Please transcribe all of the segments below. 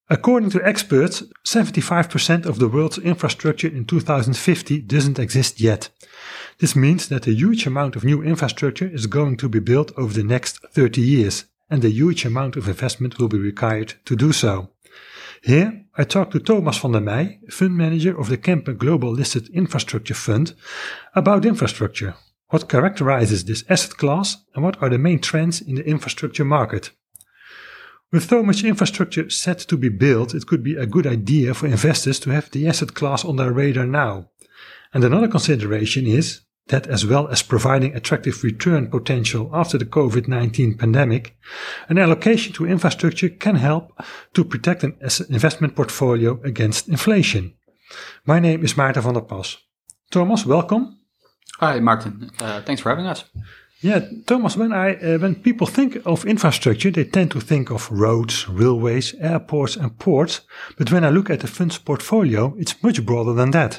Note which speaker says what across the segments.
Speaker 1: According to experts, 75% of the world's infrastructure in 2050 doesn't exist yet. This means that a huge amount of new infrastructure is going to be built over the next 30 years, and a huge amount of investment will be required to do so. Here, I talked to Thomas van der Meij, fund manager of the Kempen Global Listed Infrastructure Fund, about infrastructure. What characterizes this asset class, and what are the main trends in the infrastructure market? With so much infrastructure set to be built, it could be a good idea for investors to have the asset class on their radar now. And another consideration is that, as well as providing attractive return potential after the COVID-19 pandemic, an allocation to infrastructure can help to protect an investment portfolio against inflation. My name is Maarten van der Pas. Thomas, welcome.
Speaker 2: Hi, Martin. Thanks for having us.
Speaker 1: Yeah, Thomas, when people think of infrastructure, they tend to think of roads, railways, airports and ports. But when I look at the fund's portfolio, it's much broader than that.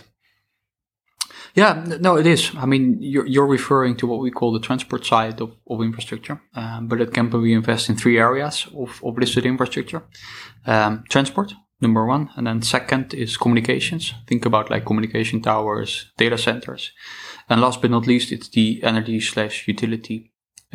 Speaker 2: Yeah, no, it is. I mean, you're referring to what we call the transport side of infrastructure. But at Kempen, we invest in three areas of listed infrastructure. Transport, number one. And then second is communications. Think about like communication towers, data centers. And last but not least, it's the energy/utilities.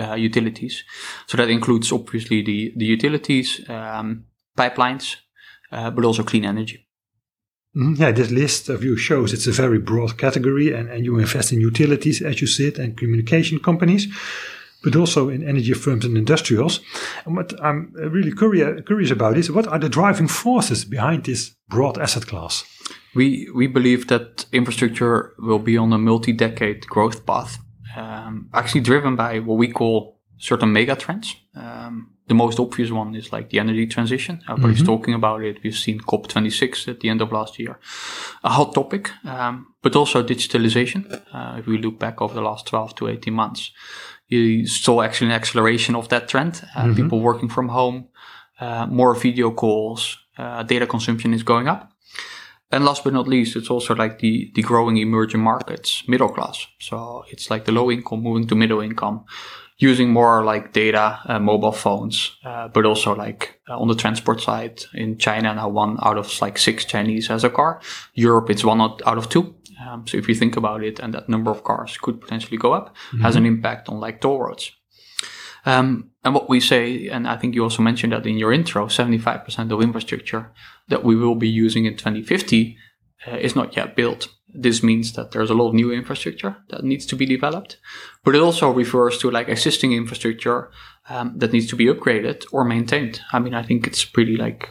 Speaker 2: So that includes obviously the utilities, pipelines, but also clean energy.
Speaker 1: Yeah, this list of you shows it's a very broad category, and you invest in utilities, as you said, and communication companies, but also in energy firms and industrials. And what I'm really curious about is, what are the driving forces behind this broad asset class?
Speaker 2: We believe that infrastructure will be on a multi-decade growth path, actually driven by what we call certain mega trends. The most obvious one is like the energy transition. Everybody's talking about it. We've seen COP26 at the end of last year. A hot topic, but also digitalization. If we look back over the last 12 to 18 months, you saw actually an acceleration of that trend. People working from home, more video calls, data consumption is going up. And last but not least, it's also like the growing emerging markets, middle class. So it's like the low income moving to middle income, using more like data, mobile phones, but also like on the transport side in China now 1 out of like 6 Chinese has a car. Europe, it's 1 out of 2. So if you think about it, and that number of cars could potentially go up, has an impact on like toll roads. And what we say, and I think you also mentioned that in your intro, 75% of infrastructure that we will be using in 2050 is not yet built. This means that there's a lot of new infrastructure that needs to be developed, but it also refers to like existing infrastructure that needs to be upgraded or maintained. I mean, I think it's pretty like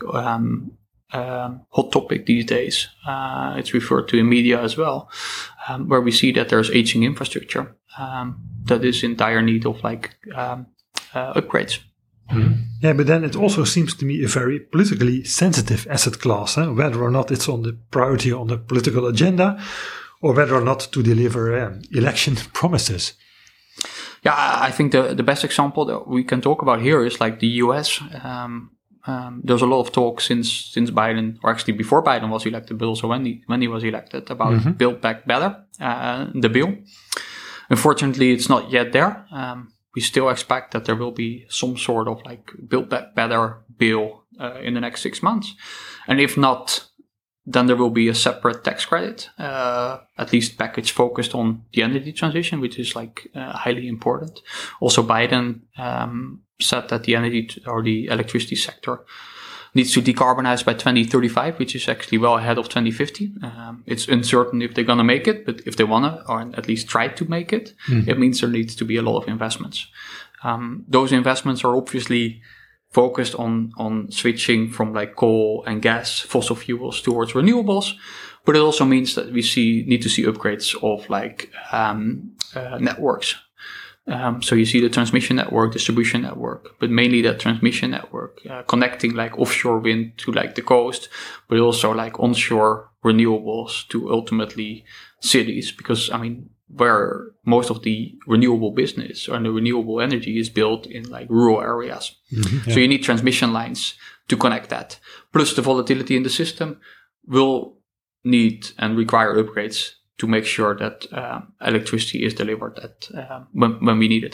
Speaker 2: hot topic these days. It's referred to in media as well, where we see that there's aging infrastructure that is in dire need of like upgrades.
Speaker 1: Yeah, but then it also seems to me a very politically sensitive asset class, whether or not it's on the priority on the political agenda, or whether or not to deliver election promises.
Speaker 2: Yeah, I think the best example that we can talk about here is like the US. There's a lot of talk since Biden, or actually before Biden was elected, but also when he was elected, about Build Back Better, the bill. Unfortunately, it's not yet there. We still expect that there will be some sort of like Build Back Better bill in the next 6 months. And if not, then there will be a separate tax credit, at least package focused on the energy transition, which is like highly important. Also, Biden said that the energy or the electricity sector needs to decarbonize by 2035, which is actually well ahead of 2050. It's uncertain if they're going to make it, but if they want to, or at least try to make it, it means there needs to be a lot of investments. Those investments are obviously focused on switching from like coal and gas, fossil fuels towards renewables, but it also means that we need to see upgrades of like networks. So you see the transmission network, distribution network, but mainly that transmission network, connecting like offshore wind to like the coast, but also like onshore renewables to ultimately cities. Because I mean, where most of the renewable business and the renewable energy is built in like rural areas. So you need transmission lines to connect that. Plus the volatility in the system will need and require upgrades to make sure that electricity is delivered when we need it.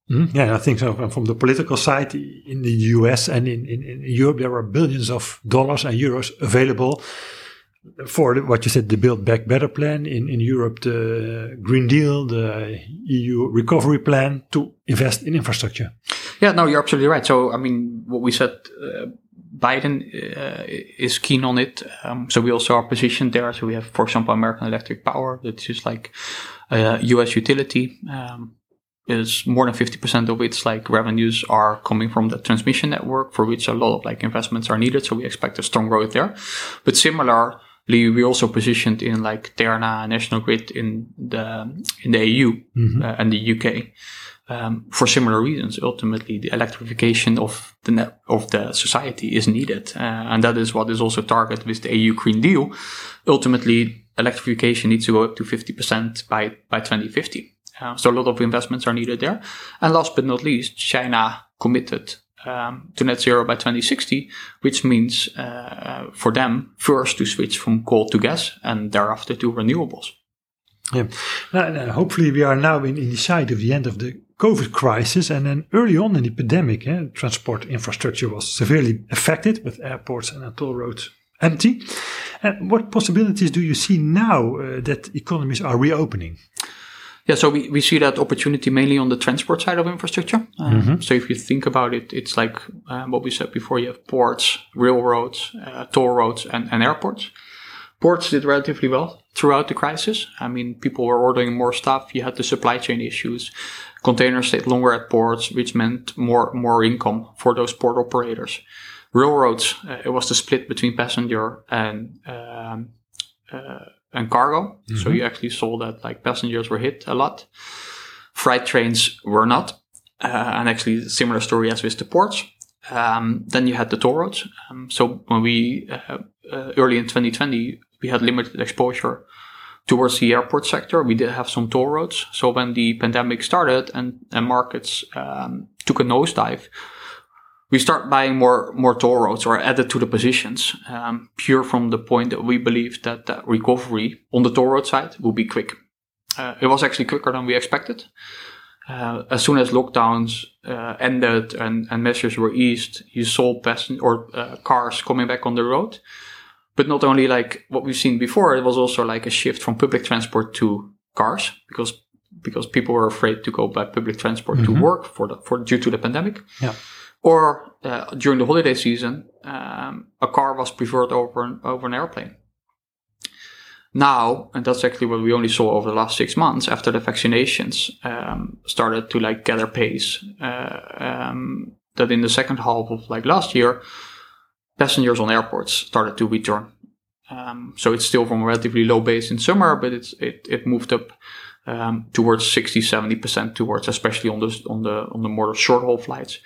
Speaker 1: Yeah, I think so. And from the political side, in the US and in Europe, there are billions of dollars and euros available for what you said, the Build Back Better plan. In Europe, the Green Deal, the EU recovery plan to invest in infrastructure.
Speaker 2: Yeah, no, you're absolutely right. So, I mean, what we said, Biden is keen on it. So we also are positioned there. So we have, for example, American Electric Power, that's just like a US utility. Is more than 50% of its like revenues are coming from the transmission network, for which a lot of like investments are needed. So we expect a strong growth there. But similarly, we also positioned in like Terna, National Grid in the EU and the UK for similar reasons. Ultimately, the electrification of the society is needed, and that is what is also targeted with the EU Green Deal. Ultimately, electrification needs to go up to 50% by 2050. So a lot of investments are needed there. And last but not least, China committed to net zero by 2060, which means for them first to switch from coal to gas and thereafter to renewables.
Speaker 1: Yeah. Now, hopefully we are now in the side of the end of the COVID crisis, and then early on in the pandemic, transport infrastructure was severely affected with airports and toll roads empty. And what possibilities do you see now that economies are reopening?
Speaker 2: Yeah, so we see that opportunity mainly on the transport side of infrastructure. So if you think about it, it's like what we said before, you have ports, railroads, toll roads, and airports. Ports did relatively well throughout the crisis. I mean, people were ordering more stuff. You had the supply chain issues. Containers stayed longer at ports, which meant more income for those port operators. Railroads, it was the split between passenger and cargo. So you actually saw that like passengers were hit a lot. Freight trains were not. And actually similar story as with the ports. Then you had the toll roads. So when we, early in 2020, we had limited exposure towards the airport sector. We did have some toll roads. So when the pandemic started and markets took a nosedive, we start buying more toll roads or added to the positions, pure from the point that we believe that the recovery on the toll road side will be quick. It was actually quicker than we expected. As soon as lockdowns ended and measures were eased, you saw cars coming back on the road. But not only like what we've seen before, it was also like a shift from public transport to cars because people were afraid to go by public transport to work due to the pandemic.
Speaker 1: Yeah.
Speaker 2: Or during the holiday season, a car was preferred over an airplane. Now, and that's actually what we only saw over the last 6 months after the vaccinations started to like gather pace, that in the second half of like last year, passengers on airports started to return. So it's still from a relatively low base in summer, but it moved up towards 60-70% towards, especially on the more short haul flights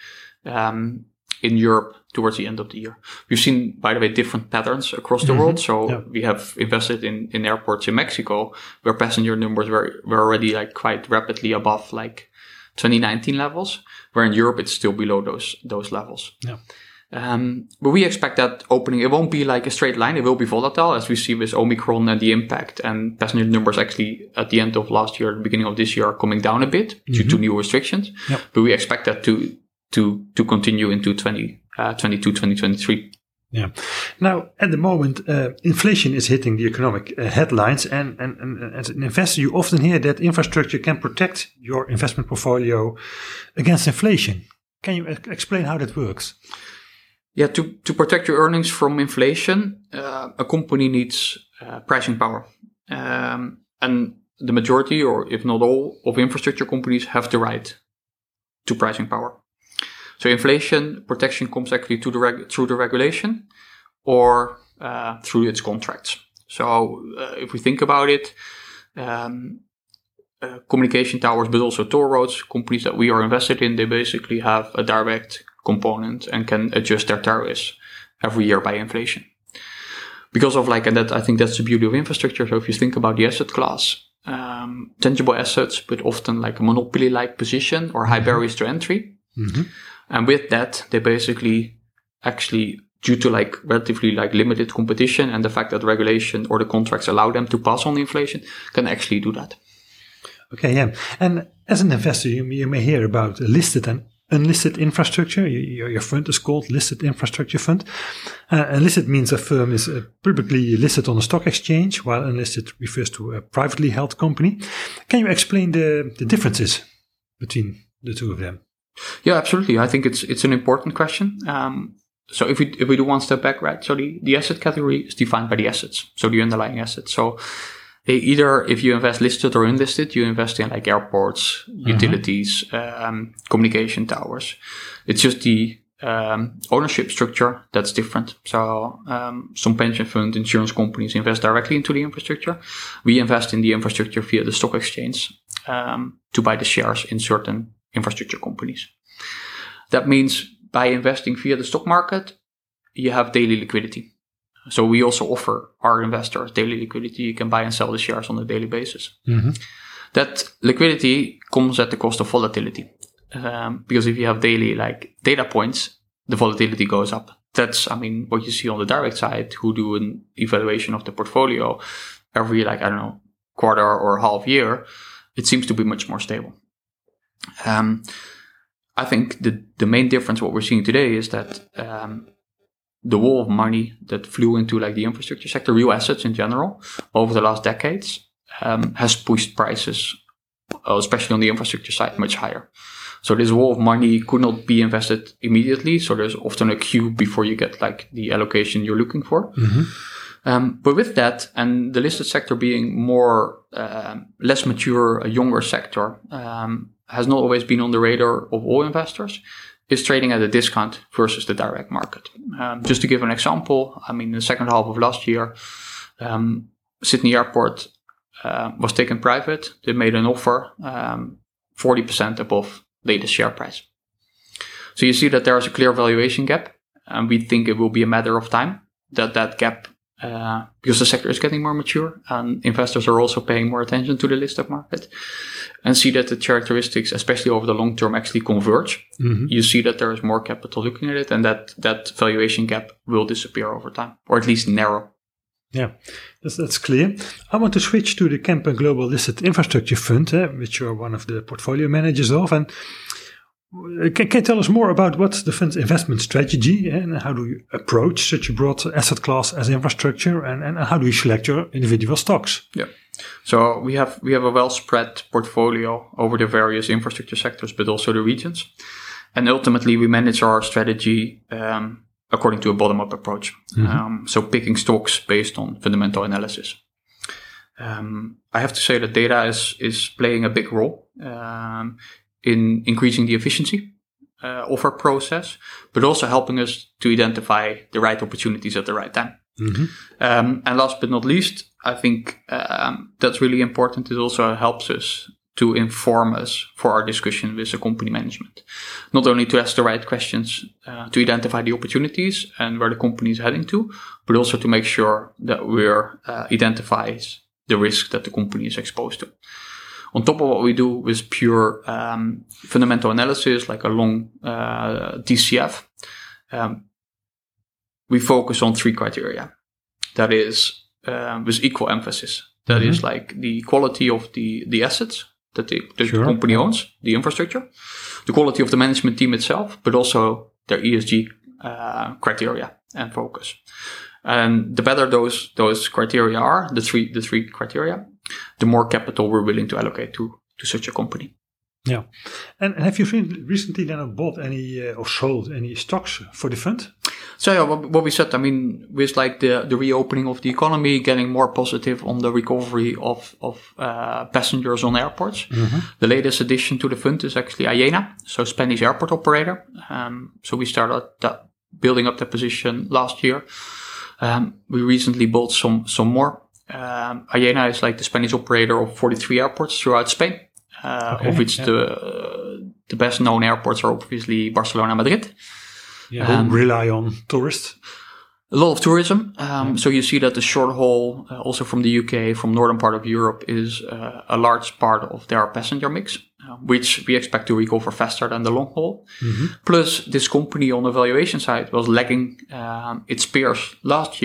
Speaker 2: in Europe towards the end of the year. We've seen, by the way, different patterns across the world. So we have invested in airports in Mexico where passenger numbers were already like quite rapidly above like 2019 levels, where in Europe it's still below those levels.
Speaker 1: Yeah.
Speaker 2: But we expect that opening, it won't be like a straight line. It will be volatile, as we see with Omicron and the impact, and passenger numbers actually at the end of last year, the beginning of this year, are coming down a bit due to new restrictions. Yep. But we expect that to continue into 2022, 2023.
Speaker 1: Yeah. Now, at the moment, inflation is hitting the economic headlines, and as an investor, you often hear that infrastructure can protect your investment portfolio against inflation. Can you explain how that works?
Speaker 2: Yeah, to protect your earnings from inflation, a company needs pricing power. And the majority, or if not all, of infrastructure companies have the right to pricing power. So inflation protection comes actually through the regulation or through its contracts. So if we think about it, communication towers, but also toll roads, companies that we are invested in, they basically have a direct component and can adjust their tariffs every year by inflation. Because of like, and that I think that's the beauty of infrastructure. So if you think about the asset class, tangible assets, but often like a monopoly-like position or high barriers to entry. Mm-hmm. And with that, they basically actually, due to like relatively like limited competition and the fact that regulation or the contracts allow them to pass on inflation, can actually do that.
Speaker 1: Okay, yeah. And as an investor, you may hear about listed and unlisted infrastructure. Your fund is called Listed Infrastructure Fund. Listed means a firm is publicly listed on a stock exchange, while unlisted refers to a privately held company. Can you explain the differences between the two of them?
Speaker 2: Yeah, absolutely. I think it's an important question. So if we do one step back, right? So the asset category is defined by the assets, so the underlying assets. So either if you invest listed or unlisted, you invest in like airports, utilities, communication towers. It's just the ownership structure that's different. So some pension fund, insurance companies invest directly into the infrastructure. We invest in the infrastructure via the stock exchange to buy the shares in certain infrastructure companies. That means by investing via the stock market, you have daily liquidity. So we also offer our investors daily liquidity. You can buy and sell the shares on a daily basis. That liquidity comes at the cost of volatility. Because if you have daily like data points, the volatility goes up. That's, what you see on the direct side, who do an evaluation of the portfolio every quarter or half year. It seems to be much more stable. I think the main difference, what we're seeing today, is that the wall of money that flew into like the infrastructure sector, real assets in general, over the last decades, has pushed prices, especially on the infrastructure side, much higher. So this wall of money could not be invested immediately. So there's often a queue before you get like the allocation you're looking for. But with that, and the listed sector being more less mature, a younger sector, has not always been on the radar of all investors, is trading at a discount versus the direct market. Just to give an example, in the second half of last year, Sydney Airport was taken private. They made an offer 40% above latest share price. So you see that there is a clear valuation gap, and we think it will be a matter of time that gap, because the sector is getting more mature and investors are also paying more attention to the listed market, and see that the characteristics, especially over the long term, actually converge. You see that there is more capital looking at it, and that valuation gap will disappear over time, or at least narrow.
Speaker 1: Yeah, that's clear. I want to switch to the Kempen Global Listed Infrastructure Fund, which you're one of the portfolio managers of. And can you tell us more about what's the fund's investment strategy, and how do you approach such a broad asset class as infrastructure, and how do you select your individual stocks?
Speaker 2: Yeah. So we have a well spread portfolio over the various infrastructure sectors, but also the regions. And ultimately we manage our strategy according to a bottom-up approach. So picking stocks based on fundamental analysis. I have to say that data is playing a big role in increasing the efficiency of our process, but also helping us to identify the right opportunities at the right time. And last but not least, I think that's really important. It also helps us to inform us for our discussion with the company management. Not only to ask the right questions to identify the opportunities and where the company is heading to, but also to make sure that we're identifies the risk that the company is exposed to. On top of what we do with pure fundamental analysis, like a long DCF, we focus on 3 criteria. That is with equal emphasis. That is like the quality of the assets that the company owns, the infrastructure, the quality of the management team itself, but also their ESG criteria and focus. And the better those criteria are, the three criteria, the more capital we're willing to allocate to such a company.
Speaker 1: Yeah. And have you recently then bought any or sold any stocks for the fund?
Speaker 2: So yeah, what we said, with like the reopening of the economy, getting more positive on the recovery of passengers on airports. The latest addition to the fund is actually Aena, so Spanish airport operator. So we started building up that position last year. We recently bought some more. Aena is like the Spanish operator of 43 airports throughout Spain, of which the best known airports are obviously Barcelona and Madrid.
Speaker 1: Yeah, who rely on tourists.
Speaker 2: A lot of tourism. So you see that the short haul, also from the UK, from northern part of Europe, is a large part of their passenger mix, which we expect to recover faster than the long haul. Plus, this company on the valuation side was lagging its peers last year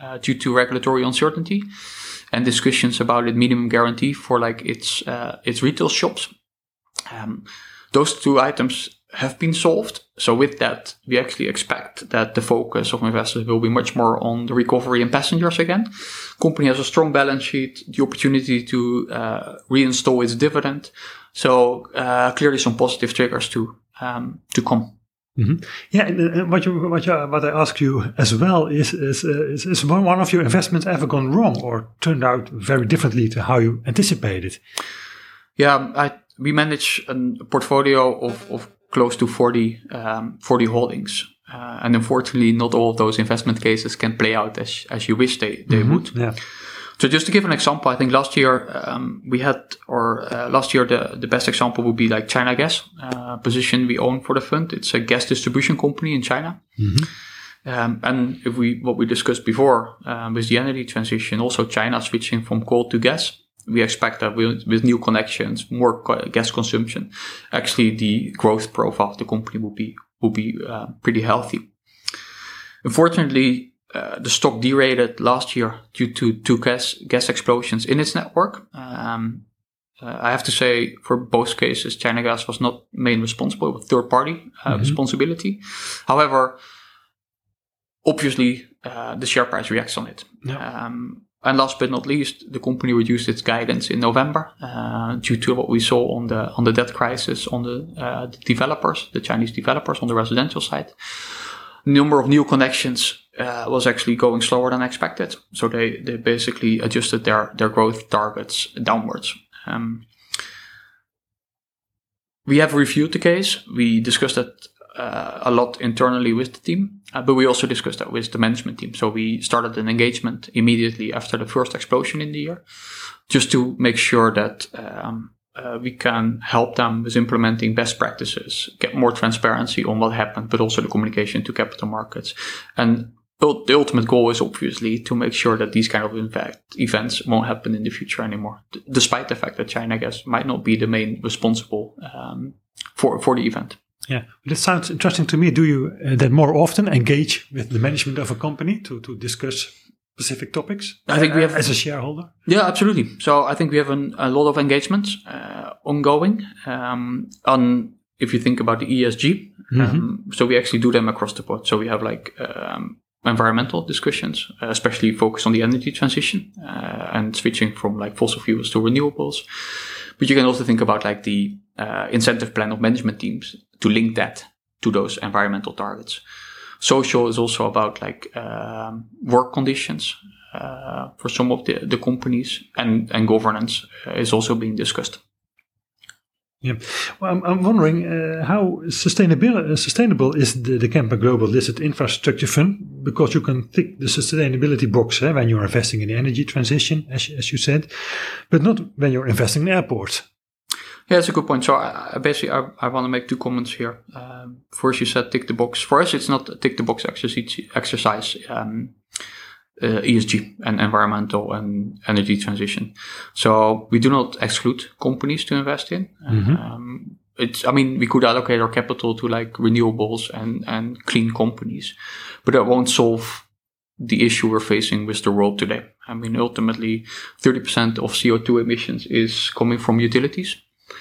Speaker 2: due to regulatory uncertainty and discussions about its minimum guarantee for like its retail shops. Those two items have been solved. So with that, we actually expect that the focus of investors will be much more on the recovery in passengers again. Company has a strong balance sheet, the opportunity to reinstall its dividend. So clearly some positive triggers to come.
Speaker 1: Mm-hmm. Yeah, and what I ask you as well is one of your investments ever gone wrong or turned out very differently to how you anticipated?
Speaker 2: Yeah, we manage a portfolio of close to 40 holdings. And unfortunately, not all of those investment cases can play out as you wish they would.
Speaker 1: Yeah.
Speaker 2: So just to give an example, I think last year the best example would be like China Gas, position we own for the fund. It's a gas distribution company in China. Mm-hmm. And what we discussed before with the energy transition, also China switching from coal to gas. We expect that with new connections, more gas consumption, actually the growth profile of the company will be pretty healthy. Unfortunately, the stock derated last year due to two gas explosions in its network. I have to say, for both cases, China Gas was not main responsible, but third-party responsibility. However, obviously, the share price reacts on it. Yeah. And last but not least, the company reduced its guidance in November due to what we saw on the debt crisis on the developers, the Chinese developers on the residential side. Number of new connections was actually going slower than expected, so they basically adjusted their growth targets downwards. We have reviewed the case. We discussed that a lot internally with the team, but we also discussed that with the management team. So we started an engagement immediately after the first explosion in the year, just to make sure that we can help them with implementing best practices, get more transparency on what happened, but also the communication to capital markets. And the ultimate goal is obviously to make sure that these kind of events won't happen in the future anymore, despite the fact that China Gas might not be the main responsible for the event.
Speaker 1: Yeah, this sounds interesting to me. Do you then more often engage with the management of a company to discuss specific topics?
Speaker 2: I think we have,
Speaker 1: as a shareholder.
Speaker 2: Yeah, absolutely. So I think we have a lot of engagements ongoing. On if you think about the ESG, so we actually do them across the board. So we have like environmental discussions, especially focused on the energy transition and switching from like fossil fuels to renewables. But you can also think about like the incentive plan of management teams to link that to those environmental targets. Social is also about like work conditions for some of the companies, and governance is also being discussed.
Speaker 1: Yeah, well, I'm wondering how sustainable is the Kempen Global Listed Infrastructure Fund, because you can tick the sustainability box when you're investing in the energy transition, as you said, but not when you're investing in airports.
Speaker 2: Yeah, that's a good point. So I want to make two comments here. First, you said tick the box. For us, it's not a tick the box exercise. ESG and environmental and energy transition. So we do not exclude companies to invest in. We could allocate our capital to like renewables and clean companies, but that won't solve the issue we're facing with the world today. I mean, ultimately, 30% of CO2 emissions is coming from utilities.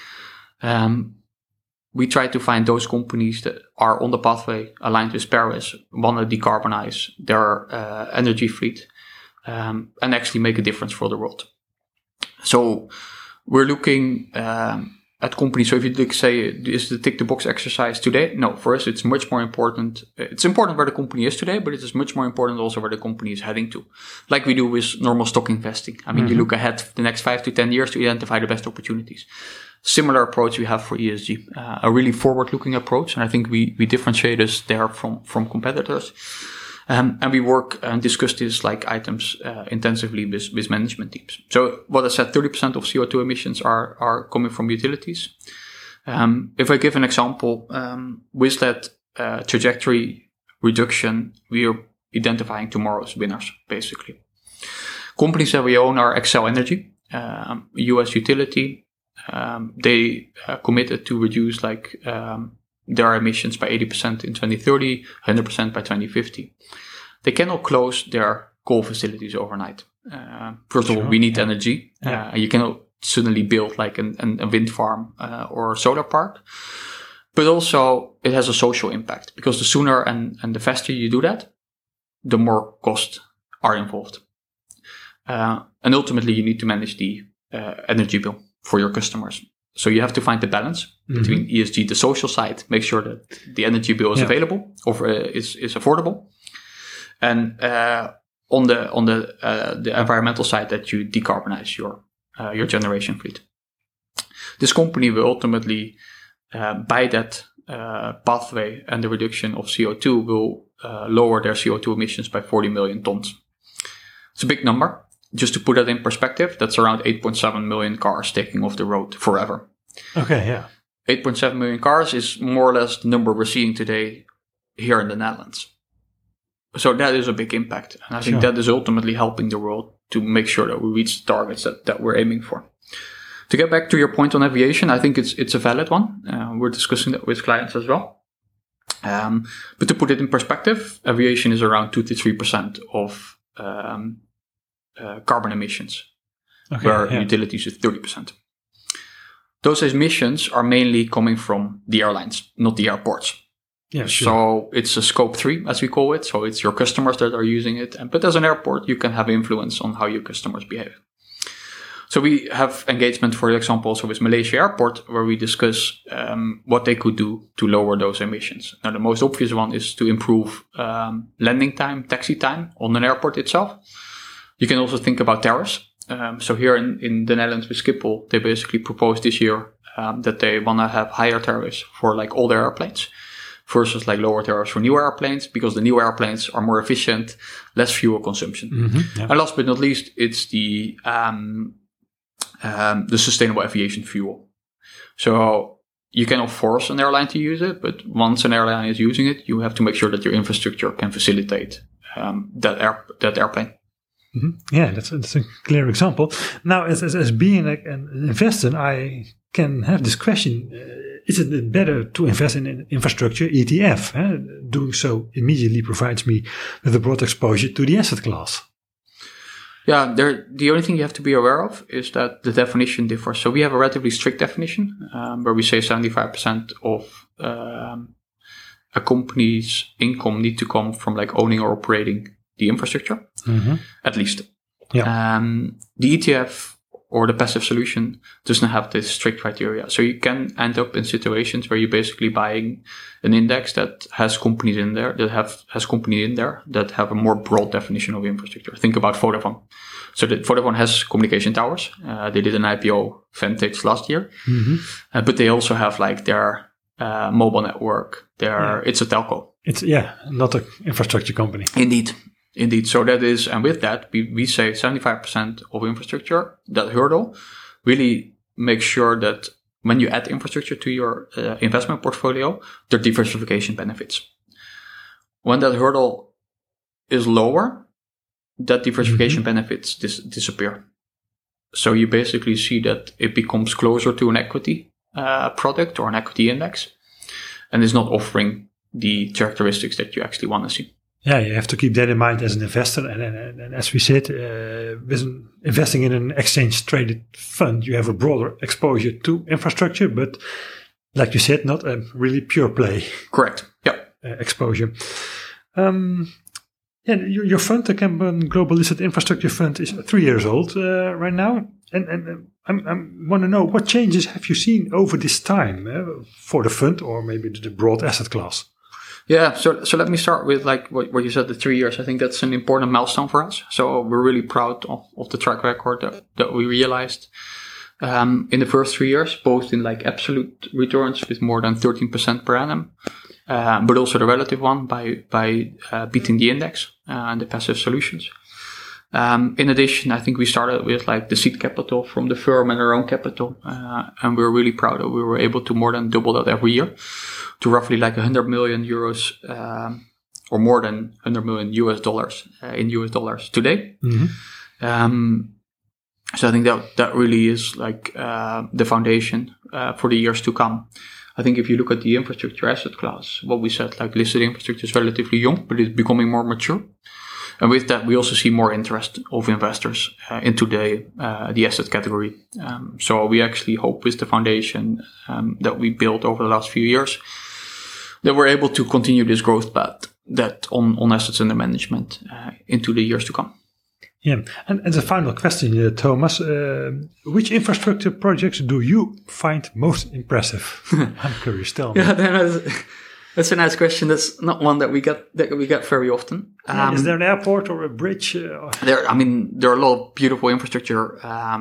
Speaker 2: We try to find those companies that are on the pathway aligned with Paris, want to decarbonize their energy fleet, and actually make a difference for the world. So we're looking at companies. So if you say, is the tick the box exercise today? No, for us, it's much more important. It's important where the company is today, but it is much more important also where the company is heading to. Like we do with normal stock investing. I mean, you look ahead the next 5 to 10 years to identify the best opportunities. Similar approach we have for ESG, a really forward-looking approach. And I think we differentiate us there from competitors. And we work and discuss these like items intensively with management teams. So what I said, 30% of CO2 emissions are coming from utilities. If I give an example, with that trajectory reduction, we are identifying tomorrow's winners, basically. Companies that we own are Xcel Energy, US utility. They committed to reduce their emissions by 80% in 2030, 100% by 2050. They cannot close their coal facilities overnight. First of all, we need energy. You cannot suddenly build like a wind farm or a solar park. But also it has a social impact, because the sooner and the faster you do that, the more costs are involved. And ultimately you need to manage the energy bill for your customers. So you have to find the balance between ESG, the social side, make sure that the energy bill is available or is affordable. And on the environmental side, that you decarbonize your generation fleet. This company will ultimately, by that pathway and the reduction of CO2, will lower their CO2 emissions by 40 million tons. It's a big number. Just to put that in perspective, that's around 8.7 million cars taking off the road forever.
Speaker 1: Okay, yeah.
Speaker 2: 8.7 million cars is more or less the number we're seeing today here in the Netherlands. So that is a big impact. And I think that is ultimately helping the world to make sure that we reach the targets that we're aiming for. To get back to your point on aviation, I think it's a valid one. We're discussing that with clients as well. But to put it in perspective, aviation is around 2 to 3% of carbon emissions, where utilities is 30%. Those emissions are mainly coming from the airlines, not the airports.
Speaker 1: Yeah, sure.
Speaker 2: So it's a scope 3, as we call it. So it's your customers that are using it. But as an airport, you can have influence on how your customers behave. So we have engagement, for example, also with Malaysia Airport, where we discuss what they could do to lower those emissions. Now, the most obvious one is to improve landing time, taxi time on an airport itself. You can also think about tariffs. So here in the Netherlands with Schiphol, they basically proposed this year that they want to have higher tariffs for like older airplanes versus like lower tariffs for new airplanes, because the new airplanes are more efficient, less fuel consumption. And last but not least, it's the sustainable aviation fuel. So you cannot force an airline to use it, but once an airline is using it, you have to make sure that your infrastructure can facilitate that airplane.
Speaker 1: Yeah, that's a clear example. Now, as being like an investor, I can have this question: is it better to invest in an infrastructure ETF? Doing so immediately provides me with a broad exposure to the asset class.
Speaker 2: Yeah, the only thing you have to be aware of is that the definition differs. So we have a relatively strict definition where we say 75% of a company's income need to come from like owning or operating the infrastructure, at least. Yeah. The ETF or the passive solution does not have this strict criteria. So you can end up in situations where you're basically buying an index that has companies in there, that have a more broad definition of infrastructure. Think about Vodafone. So Vodafone has communication towers. They did an IPO Vantage last year, but they also have like their mobile network. It's a telco.
Speaker 1: It's not an infrastructure company.
Speaker 2: Indeed. So that is, and with that, we say 75% of infrastructure, that hurdle, really make sure that when you add infrastructure to your investment portfolio, there are diversification benefits. When that hurdle is lower, that diversification benefits disappear. So you basically see that it becomes closer to an equity product or an equity index, and is not offering the characteristics that you actually want to see.
Speaker 1: Yeah, you have to keep that in mind as an investor. And as we said, with investing in an exchange-traded fund, you have a broader exposure to infrastructure, but like you said, not a really pure play.
Speaker 2: Correct. Yep.
Speaker 1: Exposure. Your fund, the Kempen Global Listed Infrastructure Fund, is 3 years old right now. And I want to know, what changes have you seen over this time for the fund or maybe the broad asset class?
Speaker 2: Yeah, so let me start with like what you said, the 3 years. I think that's an important milestone for us. So we're really proud of the track record that we realized in the first 3 years, both in like absolute returns with more than 13% per annum, but also the relative one by beating the index and the passive solutions. In addition, I think we started with like the seed capital from the firm and our own capital, and we're really proud that we were able to more than double that every year to roughly like 100 million euros, or more than 100 million US dollars in US dollars today. So I think that really is like the foundation for the years to come. I think if you look at the infrastructure asset class, what we said, like listed infrastructure is relatively young, but it's becoming more mature. And with that, we also see more interest of investors into the asset category. So we actually hope with the foundation that we built over the last few years that we're able to continue this growth path that on assets under management into the years to come.
Speaker 1: Yeah, and as a final question, Thomas, which infrastructure projects do you find most impressive? I'm curious. Tell me.
Speaker 2: Yeah, that's a nice question. That's not one that we get very often.
Speaker 1: Is there an airport or a bridge?
Speaker 2: There are a lot of beautiful infrastructure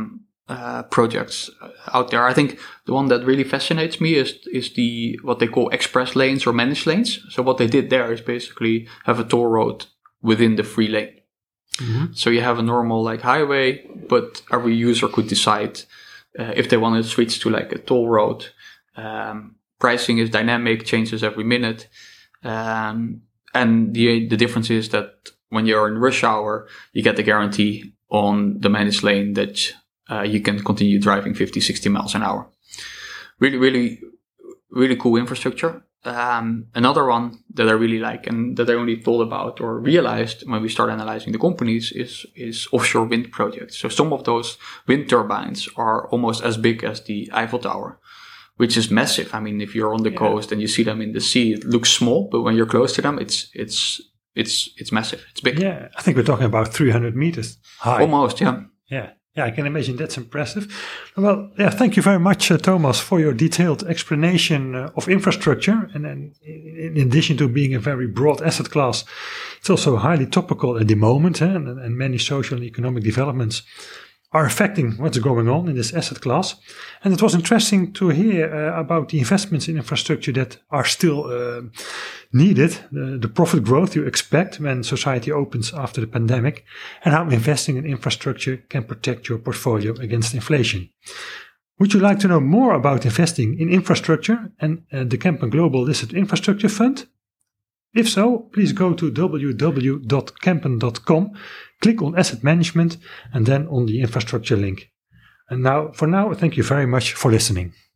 Speaker 2: projects out there. I think the one that really fascinates me is what they call express lanes or managed lanes. So what they did there is basically have a toll road within the free lane. Mm-hmm. So you have a normal highway, but every user could decide if they want to switch to a toll road. Pricing is dynamic, changes every minute. And the difference is that when you're in rush hour, you get the guarantee on the managed lane that you can continue driving 50, 60 miles an hour. Really, really, really cool infrastructure. Another one that I really like and that I only thought about or realized when we started analyzing the companies is offshore wind projects. So some of those wind turbines are almost as big as the Eiffel Tower, which is massive. I mean, if you're on the coast and you see them in the sea, it looks small, but when you're close to them, it's massive. It's big.
Speaker 1: Yeah, I think we're talking about 300 meters high.
Speaker 2: Almost, yeah.
Speaker 1: Yeah, I can imagine that's impressive. Well, yeah, thank you very much, Thomas, for your detailed explanation of infrastructure. And then in addition to being a very broad asset class, it's also highly topical at the moment, and many social and economic developments are affecting what's going on in this asset class. And it was interesting to hear about the investments in infrastructure that are still needed, the profit growth you expect when society opens after the pandemic, and how investing in infrastructure can protect your portfolio against inflation. Would you like to know more about investing in infrastructure and the Kempen Global Listed Infrastructure Fund? If so, please go to www.kempen.com, click on Asset Management, and then on the infrastructure link. And for now, thank you very much for listening.